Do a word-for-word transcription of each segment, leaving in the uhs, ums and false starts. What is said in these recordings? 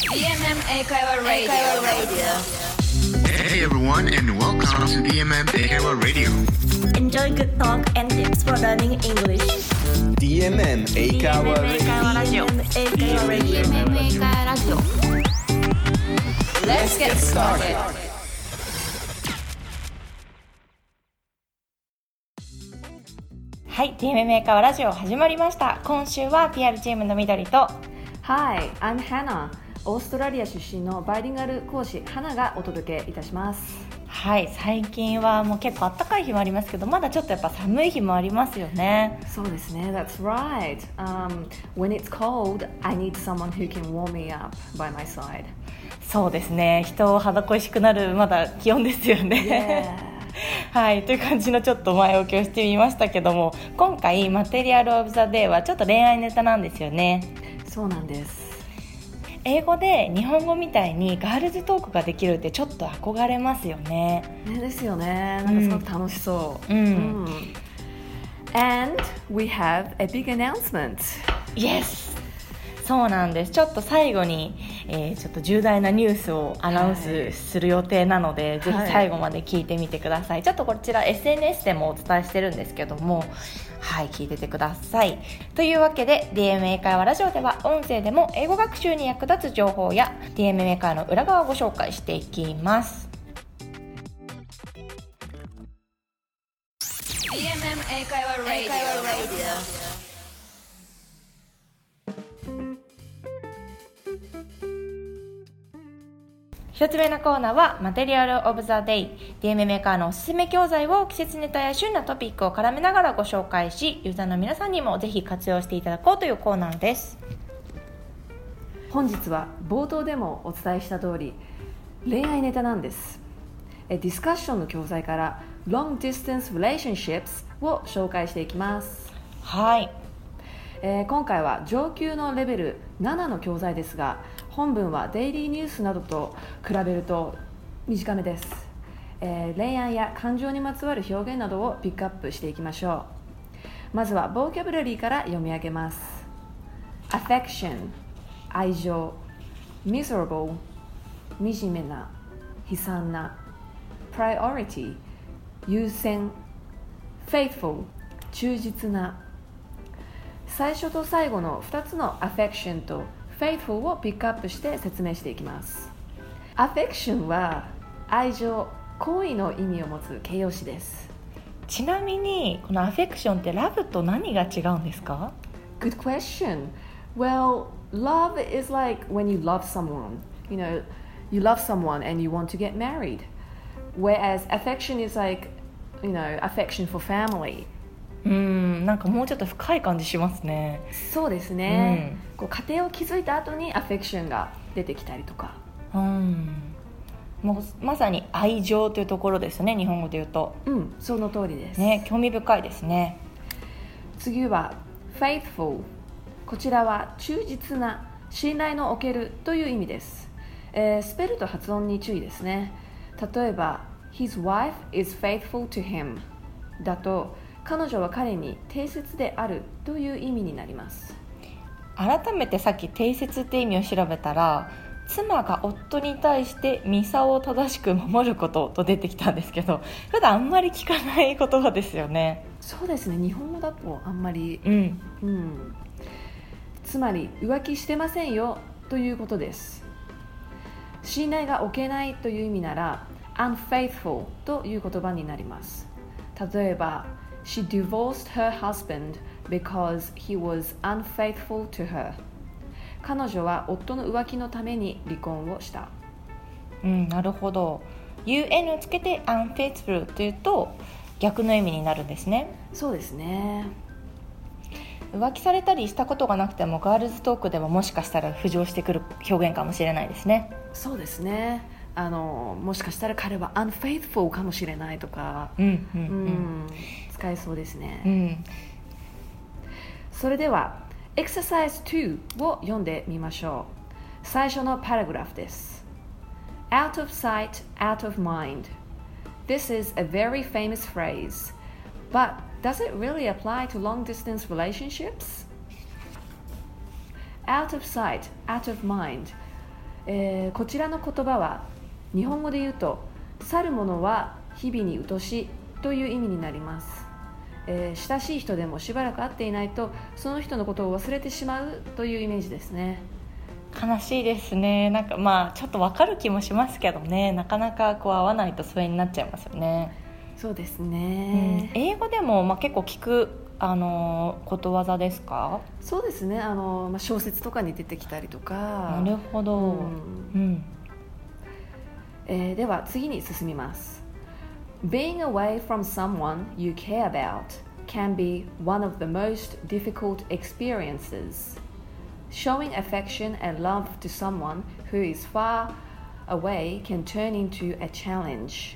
ディーエムエム 英会話 Radio. Hey everyone and welcome to ディーエムエム 英会話 Radio. Enjoy good talk and tips for learning English. ディーエムエム 英会話ディーエムエム 英会話 Radio. ラジオディーエムエム 英会話ラジオ Let's get started. はい、ディーエムエム 英会話ラジオ始まりました。今週は ピーアール チームの緑と Hi, I'm Hannah. オーストラリア出身のバイリンガル講師花がお届けいたします。 はい、最近はもう結構暖かい日もありますけど、まだちょっとやっぱ寒い日もありますよね。 そうですね、That's right. Um, when it's cold, I need someone who can warm me up by my side. そうですね、人を肌恋しくなるまだ気温ですよね。 Yeah. はい、という感じのちょっと前置きをしてみましたけども、今回マテリアルオブザデイはちょっと恋愛ネタなんですよね。 そうなんです。 英語で日本語みたいにガールズトークができるってちょっと憧れますよね。 ねですよね。なんかすごく楽しそう。 うん。うんうん、And we have a big announcement. Yes! そうなんです。ちょっと最後に、えー、ちょっと重大なニュースをアナウンスする予定なので、はい、ぜひ最後まで聞いてみてください、はい、ちょっとこちら エスエヌエス でもお伝えしてるんですけども、はい、聞いててください。というわけで ディーエムエム 英会話ラジオでは音声でも英語学習に役立つ情報や ディーエムエム 英会話の裏側をご紹介していきます。 ディーエムエム 英会話 Radio。 一つ目のコーナーはマテリアルオブザデイ。 ディーエムエム 英会話のおすすめ教材を季節ネタや旬なトピックを絡めながらご紹介し、ユーザーの皆さんにもぜひ活用していただこうというコーナーです。 本日は冒頭でもお伝えした通り恋愛ネタなんです。ディスカッションの教材から Long Distance Relationships を紹介していきます。 はい、 えー、今回は上級のレベルななの教材ですが、本文はデイリーニュースなどと比べると短めです。えー、恋愛や感情にまつわる表現などをピックアップしていきましょう。まずはボキャブラリーから読み上げます。 Affection 愛情、 Miserable 惨めな、悲惨な、 Priority 優先、 Faithful 忠実な。最初と最後のふたつの Affection と Faithful をピックアップして説明していきます。 Affection は愛情、好意の意味を持つ形容詞です。 ちなみにこのアフェクションってラブと何が違うんですか？ Good question. Well, love is like when you love someone. You know, you love someone and you want to get married. Whereas affection is like, you know, affection for family. うーん、なんかもうちょっと深い感じしますね。 そうですね、うん、こう家庭を築いた後にアフェクションが出てきたりとか、 うん、もうまさに愛情というところですね、日本語で言うと。 うん、その通りですね、興味深いですね。 次は faithful。 こちらは忠実な、信頼のおけるという意味です、えー、スペルと発音に注意ですね。例えば His wife is faithful to him だと、彼女は彼に定説であるという意味になります。 改めてさっき定説って意味を調べたら、妻が夫に対してミサを正しく守ることと出てきたんですけど、普段あんまり聞かない言葉ですよね。 そうですね、日本語だとあんまり、 うんうん、つまり浮気してませんよということです。信頼が置けないという意味なら unfaithful という言葉になります。例えばShe divorced her husband because he was unfaithful to her. 彼女は夫の浮気のために離婚をした。 うん、なるほど。 ユーエヌ をつけて unfaithful というと逆の意味になるんですね。 そうですね。 浮気されたりしたことがなくてもガールズトークでももしかしたら浮上してくる表現かもしれないですね。 そうですね。あのもしかしたら彼は unfaithful かもしれないとか、 うんうんうんうん、使えそうですね、 うん、 それでは Exercise ツーを読んでみましょう。最初のパラグラフです。 Out of sight, out of mind. This is a very famous phrase, but does it really apply to long-distance relationships? Out of sight, out of mind. えー、こちらの言葉は日本語で言うと去る者は日々に疎しという意味になります。えー、親しい人でもしばらく会っていないとその人のことを忘れてしまうというイメージですね。 悲しいですね。なんかまあちょっとわかる気もしますけどね、なかなかこう会わないと疎遠になっちゃいますよね。 そうですね、 うん、英語でもまあ結構聞くあのことわざですか？ そうですね、あの、まあ、小説とかに出てきたりとか。 なるほど、うんうんえー、では次に進みます。 Being away from someone you care about can be one of the most difficult experiences. Showing affection and love to someone who is far away can turn into a challenge.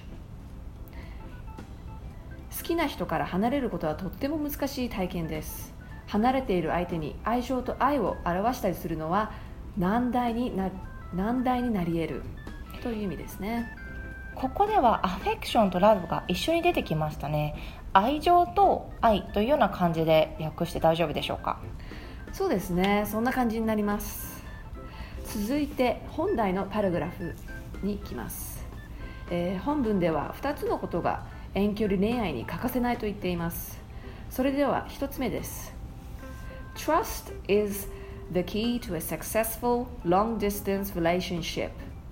好きな人から離れることはとっても難しい体験です。離れている相手に愛情と愛を表したりするのは難題にな、難題になり得るという意味ですね。 ここではアフェクションとラブが一緒に出てきましたね。愛情と愛というような感じで訳して大丈夫でしょうか？ そうですね、そんな感じになります。続いて本題のパラグラフに行きます。えー、本文ではふたつのことが遠距離恋愛に欠かせないと言っています。それではひとつめです。 Trust is the key to a successful long-distance relationship.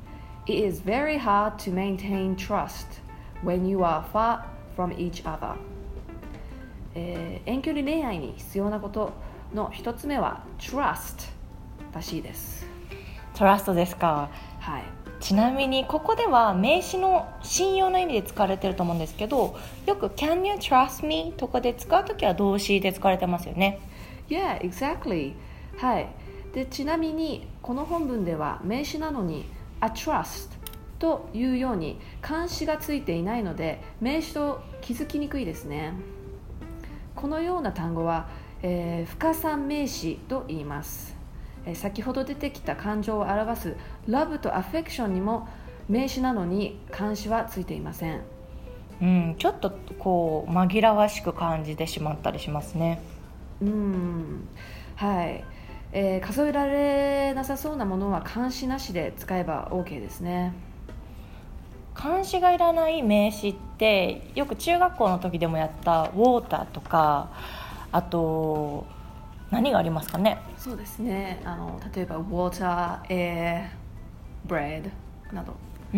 It is very hard to maintain trust when you are far from each other. えー、遠距離恋愛に必要なことのひとつめは Trust らしいです。 Trust ですか。 はい。 ちなみにここでは名詞の信用の意味で使われていると思うんですけど、よく Can you trust me とかで使うときは動詞で使われてますよね。 Yeah, exactly. はい。で、ちなみにこの本文では名詞なのに a trust というように冠詞がついていないので名詞と気づきにくいですね。このような単語は、えー、不可算名詞と言います。えー、先ほど出てきた感情を表す love と affection にも名詞なのに冠詞はついていません。 うん、ちょっとこう紛らわしく感じてしまったりしますね。 うん、はい。えー、数えられなさそうなものは冠詞なしで使えば OK ですね。 冠詞がいらない名詞ってよく中学校の時でもやったウォーターとか、あと何がありますかね。 そうですね、あの例えば water, air, bread など、 うん、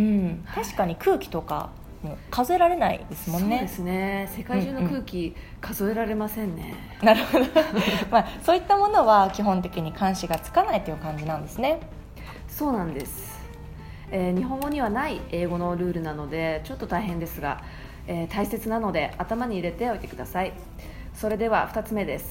確かに空気とかも数えられないですもんね。 そうですね、世界中の空気、うんうん、数えられませんね。 なるほど、まあ、そういったものは基本的に冠詞がつかないという感じなんですね。 そうなんです。えー、日本語にはない英語のルールなのでちょっと大変ですが、えー、大切なので頭に入れておいてください。それではふたつめです。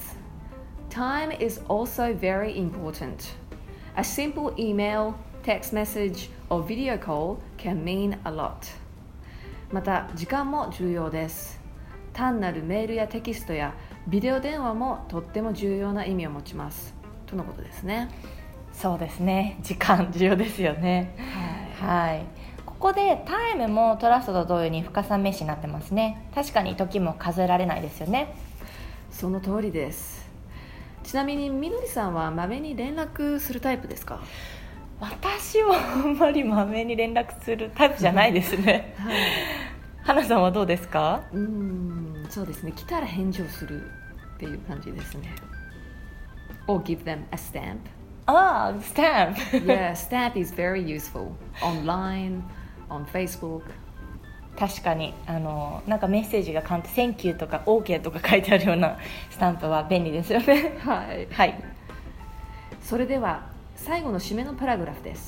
Time is also very important. A simple email, text message or video call can mean a lot. また時間も重要です。単なるメールやテキストやビデオ電話もとっても重要な意味を持ちますとのことですね。 そうですね、時間重要ですよね。はい、はい、ここでタイムもトラストと同様に不可算名詞になってますね。確かに時も数えられないですよね。 その通りです。ちなみにみのりさんはまめに連絡するタイプですか？ 私はあんまりまめに連絡するタイプじゃないですね。はい、花さんはどうですか？ うーん、そうですね、来たら返事をするっていう感じですね。Or give them a stamp. ああ、スタンプ。 Yeah, stamp is very useful. Online, on Facebook. 確かにあのなんかメッセージが簡単、Thank you とか OK とか書いてあるようなスタンプは便利ですよね。 はい、はい、それでは最後の締めのパラグラフです。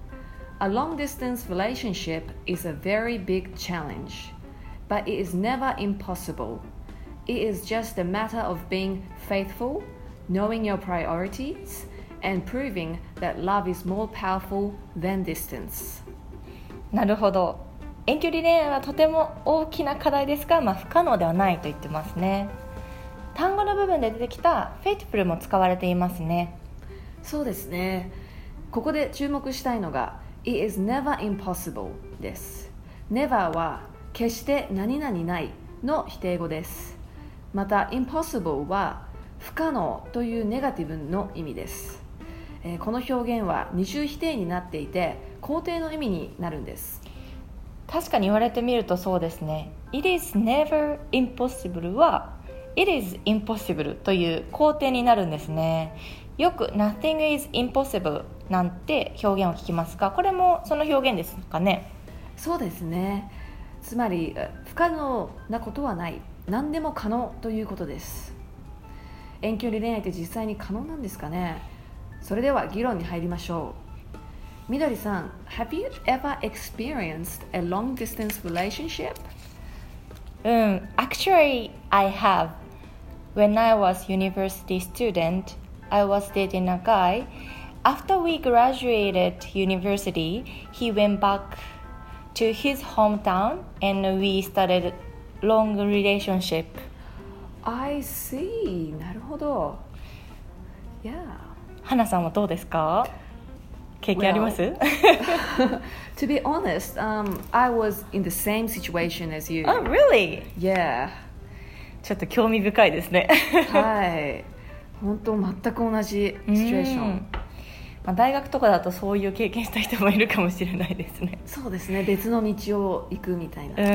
A long distance relationship is a very big challenge, but it is never impossible. It is just a matter of being faithful, knowing your priorities, and proving that love is more powerful than distance. なるほど。遠距離恋愛はとても大きな課題ですが、まあ、不可能ではないと言ってますね。単語の部分で出てきた faithful も使われていますね。そうですね。ここで注目したいのが It is never impossible です。 Never は決して何々ないの否定語です。また impossible は不可能というネガティブの意味です。 えー、この表現は二重否定になっていて肯定の意味になるんです。 確かに言われてみるとそうですね。 It is never impossible は It is impossible という肯定になるんですね。よく Nothing is impossible なんて表現を聞きますが、これもその表現ですかね。 そうですね。つまり不可能なことはない、何でも可能ということです。遠距離恋愛って実際に可能なんですかね。それでは議論に入りましょう。みどりさん、Have you ever experienced a long distance relationship? うん、Actually, I have. When I was university student, I was dating a guy. After we graduated university, he went back to his hometown and we started long relationship. I see. なるほど。Yeah. 花さんはどうですか？経験あります？ Well, to be honest, um, I was in the same situation as you. Oh, really? Yeah. ちょっと興味深いですね。 はい。本当全く同じシチュエーション。 まあ、大学とかだとそういう経験した人もいるかもしれないですね。 そうですね。別の道を行くみたいな。 うん。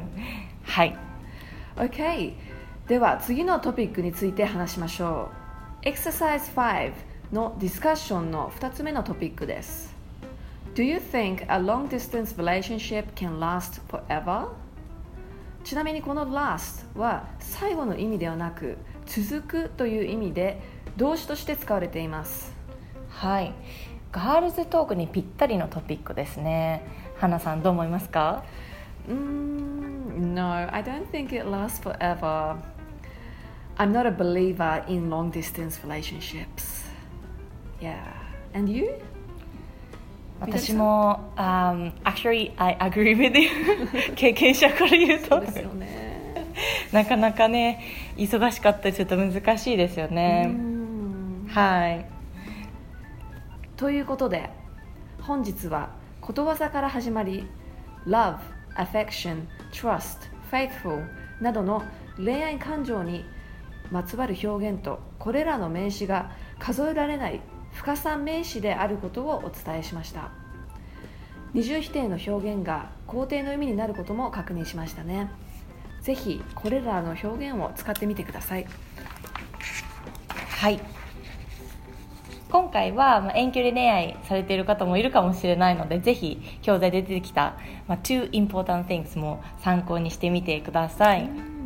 はい。 Okay. では次のトピックについて話しましょう。Exercise ファイブのディスカッションのふたつめのトピックです。Do you think a long distance relationship can last forever? ちなみにこの last は最後の意味ではなく続くという意味で動詞として使われています。 はい。ガールズトークにぴったりのトピックですね。花さんどう思いますか？ うーん No, I don't think it lasts forever. I'm not a believer in long distance relationships. Yeah. And you? 私も、um, Actually, I agree with you. 経験者から言うとそうですよね。 なかなかね、忙しかったりちょっと難しいですよね。はい。 ということで、本日はことわざから始まり、Love, Affection, Trust, Faithful などの恋愛感情にまつわる表現とこれらの名詞が数えられない深さ名詞であることをお伝えしました。二重否定の表現が肯定の意味になることも確認しましたね。ぜひこれらの表現を使ってみてください。 はい。今回は、まあ、遠距離恋愛されている方もいるかもしれないので、ぜひ教材で出てきた、まあ、two important things も参考にしてみてください。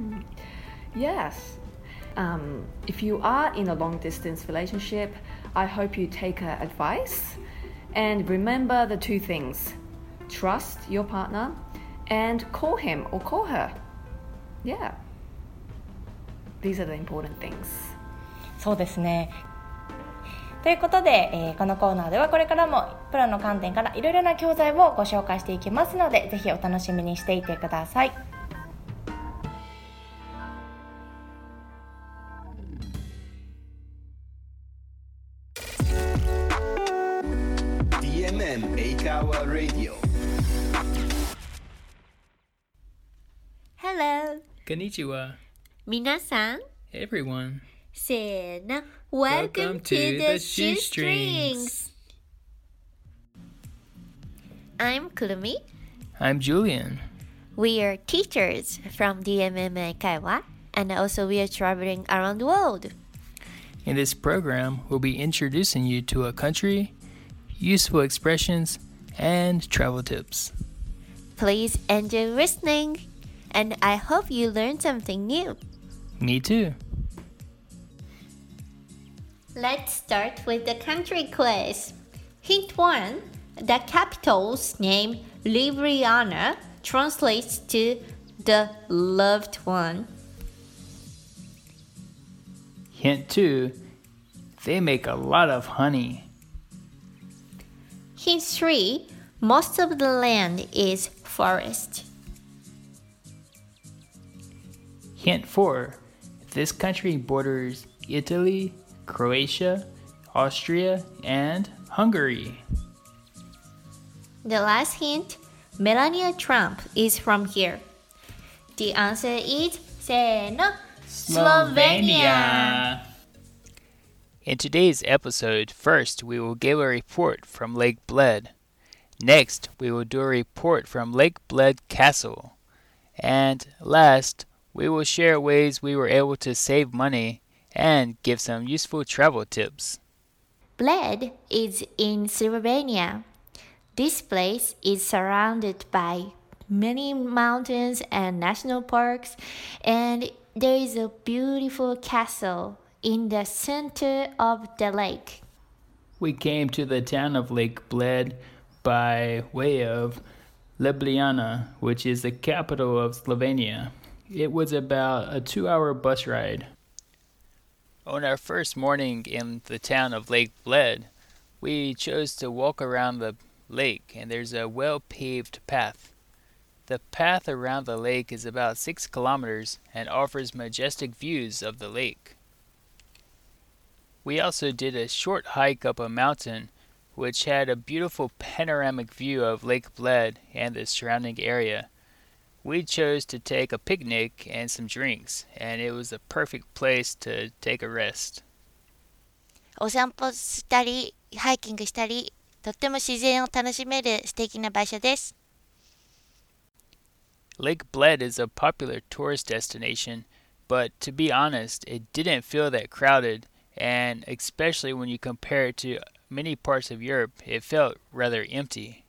Yes. Um, if you are in a long distance relationship, I hope you take her advice and remember the two things: trust your partner and call him or call her. Yeah. These are the important things. そうですね。ということで、えー、このコーナーではこれからもプロの観点からいろいろな教材をご紹介していきますので、ぜひお楽しみにしていてください。 ディーエムエム エイカワ Radio. Hello. Konnichiwa. 皆さん Everyone. せーの Welcome to the Shoestrings. I'm Kurumi. I'm Julian. We are teachers from ディーエムエム Eikaiwa, and also we are traveling around the world. In this program, we'll be introducing you to a country, useful expressions, and travel tips. Please enjoy listening, and I hope you learn something new. Me too. Let's start with the country quiz. Hint one. The capital's name, Ljubljana, translates to the loved one. Hint two. They make a lot of honey. Hint three. Most of the land is forest. Hint four. This country borders Italy, Croatia, Austria, and Hungary. The last hint, Melania Trump is from here. The answer is せーの Slovenia. In today's episode, first we will give a report from Lake Bled. Next, we will do a report from Lake Bled Castle. And last, we will share ways we were able to save money and give some useful travel tips. Bled is in Slovenia. This place is surrounded by many mountains and national parks, and there is a beautiful castle in the center of the lake. We came to the town of Lake Bled by way of Ljubljana, which is the capital of Slovenia. It was about a two-hour bus ride. On our first morning in the town of Lake Bled, we chose to walk around the lake, and there's a well-paved path. The path around the lake is about six kilometers and offers majestic views of the lake. We also did a short hike up a mountain, which had a beautiful panoramic view of Lake Bled and the surrounding area. We chose to take a picnic and some drinks, and it was a perfect place to take a rest. お散歩したり、ハイキングしたり、とっても自然を楽しめる素敵な場所です。 Lake Bled is a popular tourist destination, but to be honest, it didn't feel that crowded, and especially when you compare it to many parts of Europe, it felt rather empty.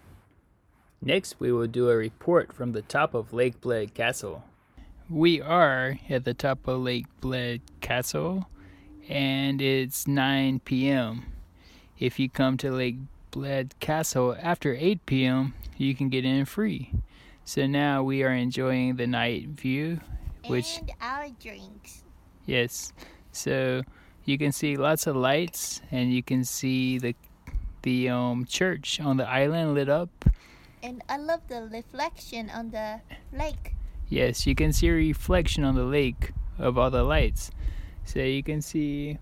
Next, we will do a report from the top of Lake Bled Castle. We are at the top of Lake Bled Castle, and it's nine p.m. If you come to Lake Bled Castle after eight p.m., you can get in free. So now we are enjoying the night view, which And our drinks. yes, so you can see lots of lights, and you can see the the um church on the island lit up. And I love the reflection on the lake. Yes, you can see a reflection on the lake of all the lights. So you can see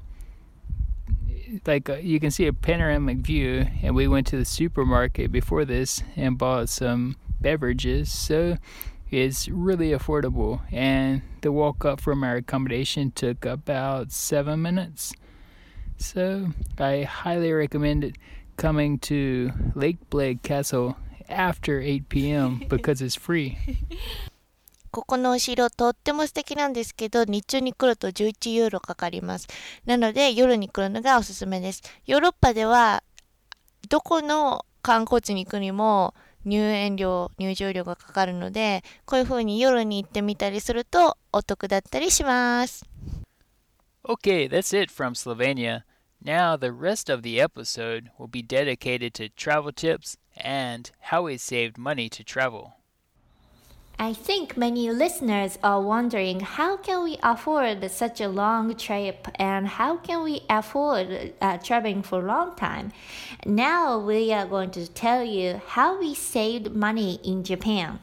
like a, you can see a panoramic view, and we went to the supermarket before this and bought some beverages, so it's really affordable, and the walk up from our accommodation took about seven minutes. So I highly recommend it coming to Lake Bled Castle after eight p.m. because it's free. ここのお城とっても素敵なんですけど、日中に来るとじゅういちユーロかかります。なので夜に来るのがおすすめです。ヨーロッパではどこの観光地に行くにも入園料、入場料がかかるので、こういう風に夜に行ってみたりするとお得だったりします。 Okay, that's it from Slovenia. Now the rest of the episode will be dedicated to travel tips and how we saved money to travel. I think many listeners are wondering how can we afford such a long trip and how can we afford uh, traveling for a long time. Now we are going to tell you how we saved money in Japan.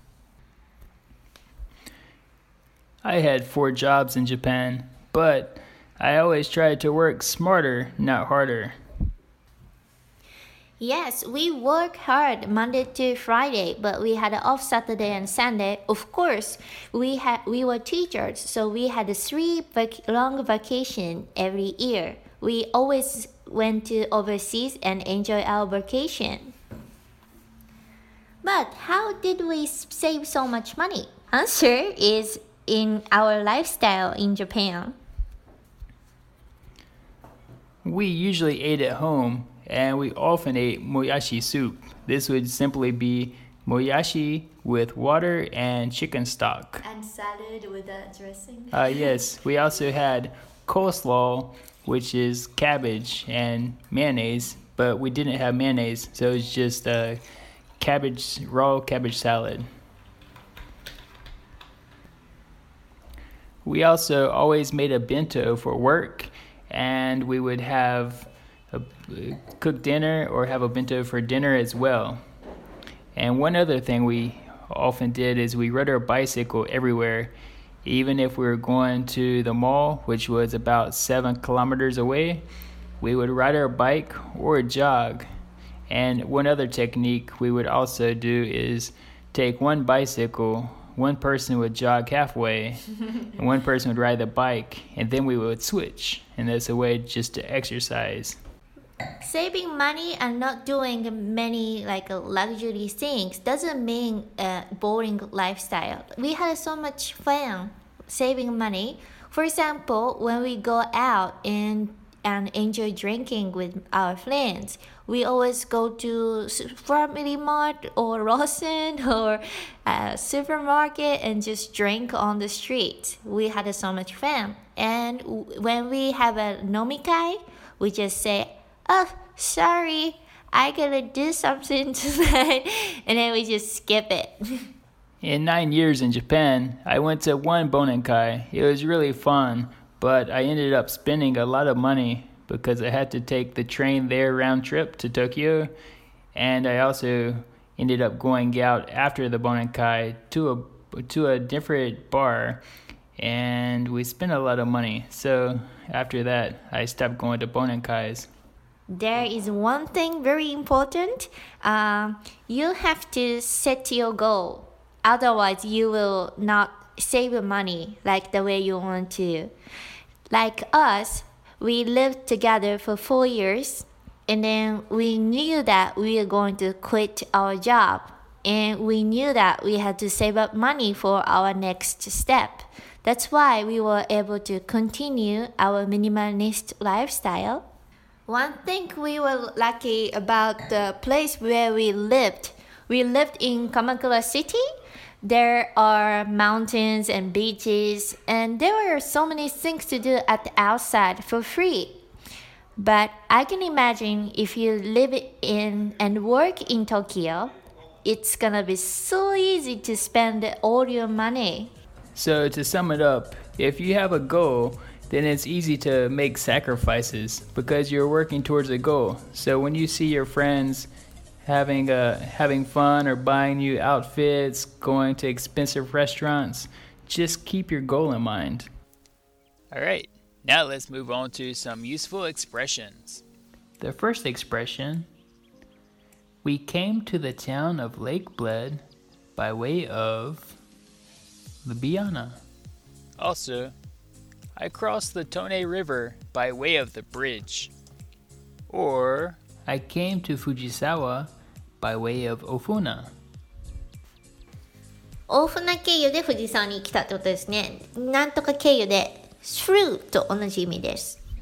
I had four jobs in Japan, but I always tried to work smarter, not harder. Yes, we work hard Monday to Friday, but we had off Saturday and Sunday. Of course, we had we were teachers, so we had three vac- long vacation every year. We always went to overseas and enjoy our vacation. But how did we save so much money? Answer is in our lifestyle in Japan. We usually ate at home, and we often ate moyashi soup. This would simply be moyashi with water and chicken stock. And salad with a dressing. Uh, yes, we also had coleslaw, which is cabbage and mayonnaise, but we didn't have mayonnaise, so it's just a cabbage, raw cabbage salad. We also always made a bento for work, and we would have a cook dinner or have a bento for dinner as well. And one other thing we often did is we rode our bicycle everywhere. Even if we were going to the mall, which was about seven kilometers away, we would ride our bike or jog. And one other technique we would also do is take one bicycle one person would jog halfway and one person would ride the bike, and then we would switch. And that's a way just to exercise. Saving money and not doing many like luxury things doesn't mean a boring lifestyle. We had so much fun saving money. For example, when we go out and and enjoy drinking with our friends, we always go to Family Mart or Lawson or a supermarket and just drink on the street. We had so much fun. And when we have a nomikai, we just say, "Oh, sorry, I gotta do something tonight," and then we just skip it. In nine years in Japan, I went to one Bonenkai. It was really fun, but I ended up spending a lot of money because I had to take the train there round trip to Tokyo, and I also ended up going out after the Bonenkai to a to a different bar, and we spent a lot of money. So after that, I stopped going to Bonenkais. There is one thing very important. Um, you have to set your goal. Otherwise, you will not save money like the way you want to. Like us, we lived together for four years, and then we knew that we were going to quit our job, and we knew that we had to save up money for our next step. That's why we were able to continue our minimalist lifestyle. One thing we were lucky about the place where we lived. We lived in Kamakura City. There are mountains and beaches, and there were so many things to do at the outside for free. But I can imagine if you live in and work in Tokyo, it's gonna be so easy to spend all your money. So to sum it up, if you have a goal, then it's easy to make sacrifices because you're working towards a goal. So when you see your friends having uh, having fun or buying new outfits, going to expensive restaurants, just keep your goal in mind. All right, now let's move on to some useful expressions. The first expression, we came to the town of Lake Bled by way of Ljubljana. Also, I crossed the Tone River by way of the bridge. Or, I came to Fujisawa by way of Ofuna. 大船経由で藤沢に来たってことですね。なんとか経由で through と同じ意味です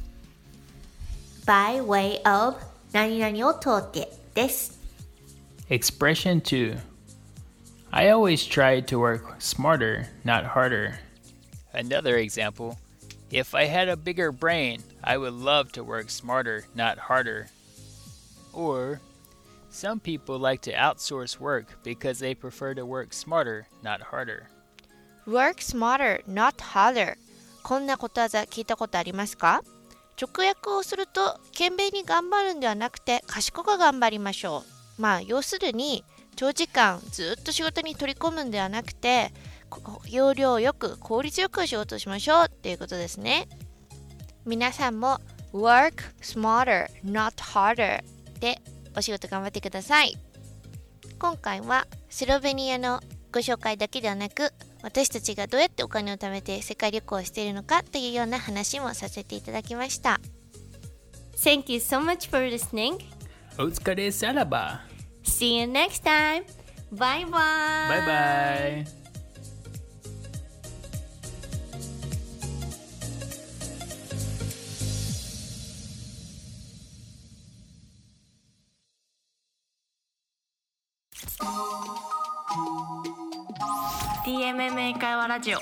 。by way of 何々を通ってです。 Expression two. I always try to work smarter, not harder. Another example. If I had a bigger brain, I would love to work smarter, not harder. Or, some people like to outsource work because they prefer to work smarter, not harder. Work smarter, not harder. こんなことわざ聞いたことありますか？直訳をすると、懸命に頑張るんではなくて、賢く頑張りましょう。まあ、要するに、長時間ずっと仕事に取り込むんではなくて、要領よく効率よく仕事をしましょうっていうことですね。皆さんも work smarter, not harder でお仕事頑張ってください。今回はスロベニアのご紹介だけではなく、私たちがどうやってお金を貯めて世界旅行をしているのかというような話もさせていただきました。 Thank you so much for listening. お疲れさらば。 See you next time. Bye bye. Bye bye. ディーエムエム 英会話ラジオ。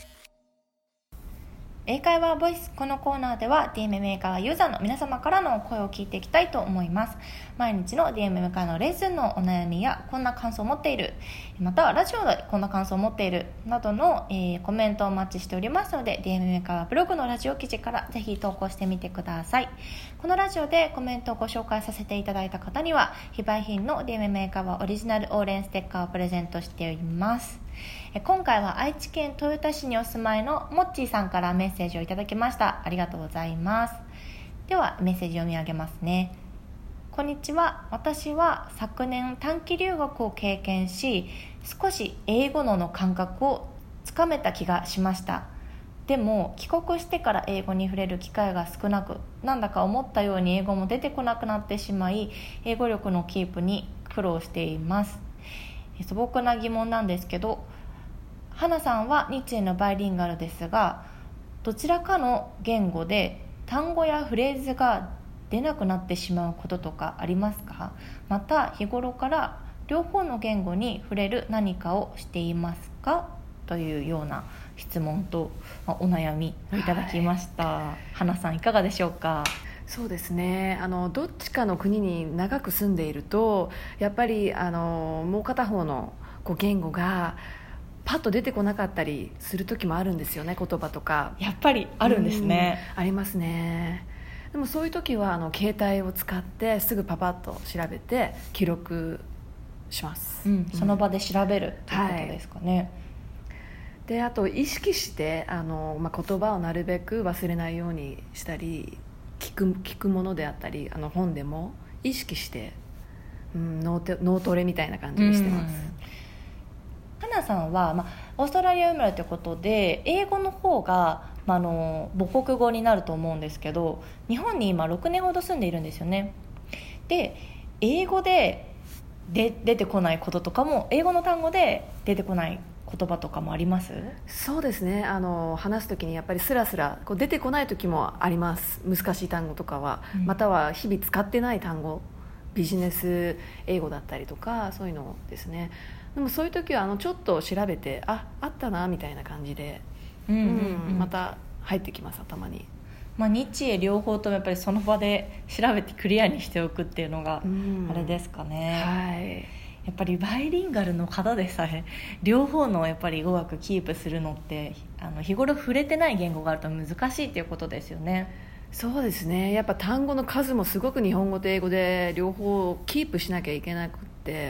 英会話ボイス。このコーナーでは ディーエムエム 英会話ユーザーの皆様からの声を聞いていきたいと思います。毎日の ディーエムエム 会のレッスンのお悩みやこんな感想を持っている、またはラジオでこんな感想を持っているなどの、えー、コメントをお待ちしておりますので ディーエムエム 英会話ブログのラジオ記事からぜひ投稿してみてください。このラジオでコメントをご紹介させていただいた方には非売品の ディーエムエム 英会話オリジナルオーレンステッカーをプレゼントしております。今回は愛知県豊田市にお住まいのもっちーさんからメッセージをいただきました。ありがとうございます。ではメッセージ読み上げますね。 こんにちは。私は昨年短期留学を経験し、少し英語の感覚をつかめた気がしました。でも帰国してから英語に触れる機会が少なく、なんだか思ったように英語も出てこなくなってしまい、英語力のキープに苦労しています。素朴な疑問なんですけど、花さんは日英のバイリンガルですが、どちらかの言語で単語やフレーズが出なくなってしまうこととかありますか？また日頃から両方の言語に触れる何かをしていますか？というような質問と、まあ、お悩みをいただきました、はい、花さんいかがでしょうか？ そうですね、あのどっちかの国に長く住んでいるとやっぱりあのもう片方のこう言語がパッと出てこなかったりする時もあるんですよね。言葉とかやっぱりあるんですね。 ありますね。でもそういう時はあの携帯を使ってすぐパパッと調べて記録します、 うん、その場で調べるということですかね、はい。 であと意識してあの、まあ、言葉をなるべく忘れないようにしたり、聞く、聞くものであったりあの本でも意識して、うん、脳ト、脳トレみたいな感じにしてます。 花さんは、まあ、オーストラリア生まれということで英語の方がまあ、あの母国語になると思うんですけど、日本に今ろくねんほど住んでいるんですよね。で英語で、で出てこないこととかも、英語の単語で出てこない言葉とかもあります？ そうですね、あの話すときにやっぱりスラスラこう出てこない時もあります。難しい単語とかは、うん、または日々使ってない単語、ビジネス英語だったりとかそういうのですね。でもそういう時はあのちょっと調べて、あ、あったなみたいな感じで、うんうんうん、また入ってきます、頭に。 まあ、日英両方ともやっぱりその場で調べてクリアにしておくっていうのがあれですかね、 うん、はい。 やっぱりバイリンガルの方でさえ両方のやっぱり語学キープするのってあの日頃触れてない言語があると難しいっていうことですよね。 そうですね、やっぱ単語の数もすごく日本語と英語で両方キープしなきゃいけなくって、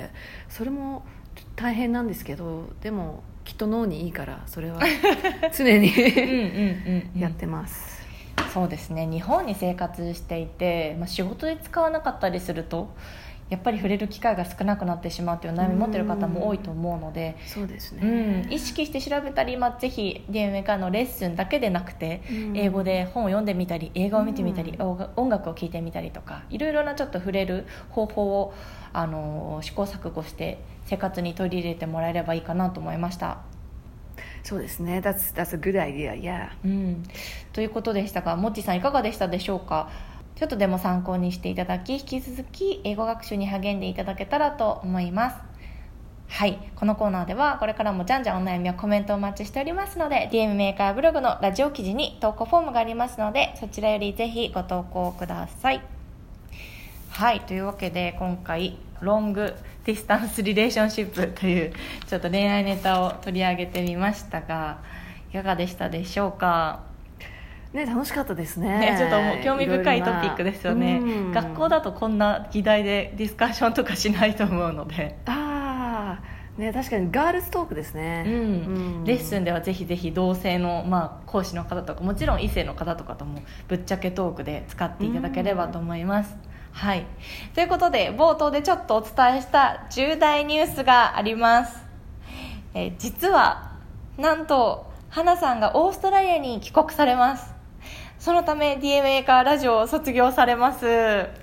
それも大変なんですけど、でもきっと脳にいいからそれは常にやってます。 そうですね、日本に生活していて、まあ、仕事で使わなかったりするとやっぱり触れる機会が少なくなってしまうという悩みを持っている方も多いと思うので、 そうですね、 うん、意識して調べたり、まあ、ぜひ ディーエムエー からのレッスンだけでなくて、英語で本を読んでみたり映画を見てみたり、音楽を聴いてみたりとか、いろいろなちょっと触れる方法をあの試行錯誤して生活に取り入れてもらえればいいかなと思いました。 そうですね、 that's, that's a good idea, yeah、 うん、ということでしたが、もっちさんいかがでしたでしょうか？ちょっとでも参考にしていただき、引き続き英語学習に励んでいただけたらと思います。はい、このコーナーではこれからもじゃんじゃんお悩みやコメントをお待ちしておりますので、 ディーエム メーカーブログのラジオ記事に投稿フォームがありますので、そちらよりぜひご投稿ください。はい、というわけで今回ロングディスタンスリレーションシップというちょっと恋愛ネタを取り上げてみましたが、いかがでしたでしょうか？ ね、楽しかったですね。 ね、ちょっともう興味深いトピックですよね。学校だとこんな議題でディスカッションとかしないと思うので、 あー、ね、確かにガールズトークですね、 うんうん、レッスンではぜひぜひ同性の、まあ、講師の方とかもちろん異性の方とかともぶっちゃけトークで使っていただければと思います。はい、ということで冒頭でちょっとお伝えした重大ニュースがあります。えー、実はなんと花さんがオーストラリアに帰国されます。そのため ディーエムエー からラジオを卒業されます。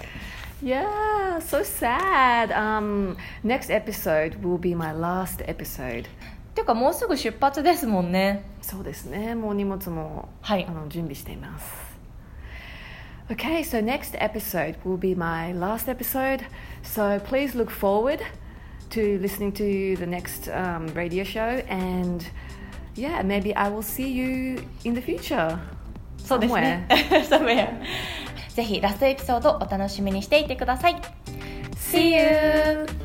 Yeah, so sad. Um, next episode will be my last episode. ていうかもうすぐ出発ですもんね。 そうですね、もう荷物も、 はい、 あの準備しています。Okay, so next episode will be my last episode. So please look forward to listening to the next um, radio show, and yeah, maybe I will see you in the future. そうですね。ぜひラストエピソードお楽しみにしていてください。See you!